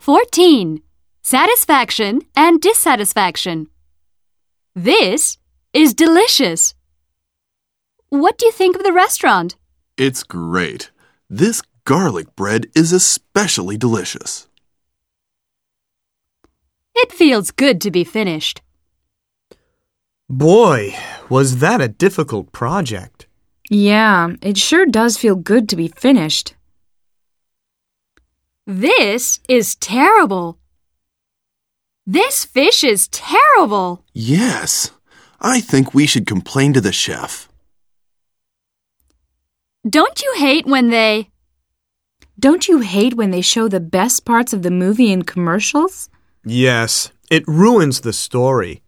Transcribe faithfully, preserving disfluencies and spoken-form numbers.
fourteen. Satisfaction and dissatisfaction. This is delicious. What do you think of the restaurant? It's great. This garlic bread is especially delicious. It feels good to be finished. Boy, was that a difficult project. Yeah, it sure does feel good to be finished. This is terrible. This fish is terrible. Yes, I think we should complain to the chef. Don't you hate when they... Don't you hate when they show the best parts of the movie in commercials? Yes, it ruins the story.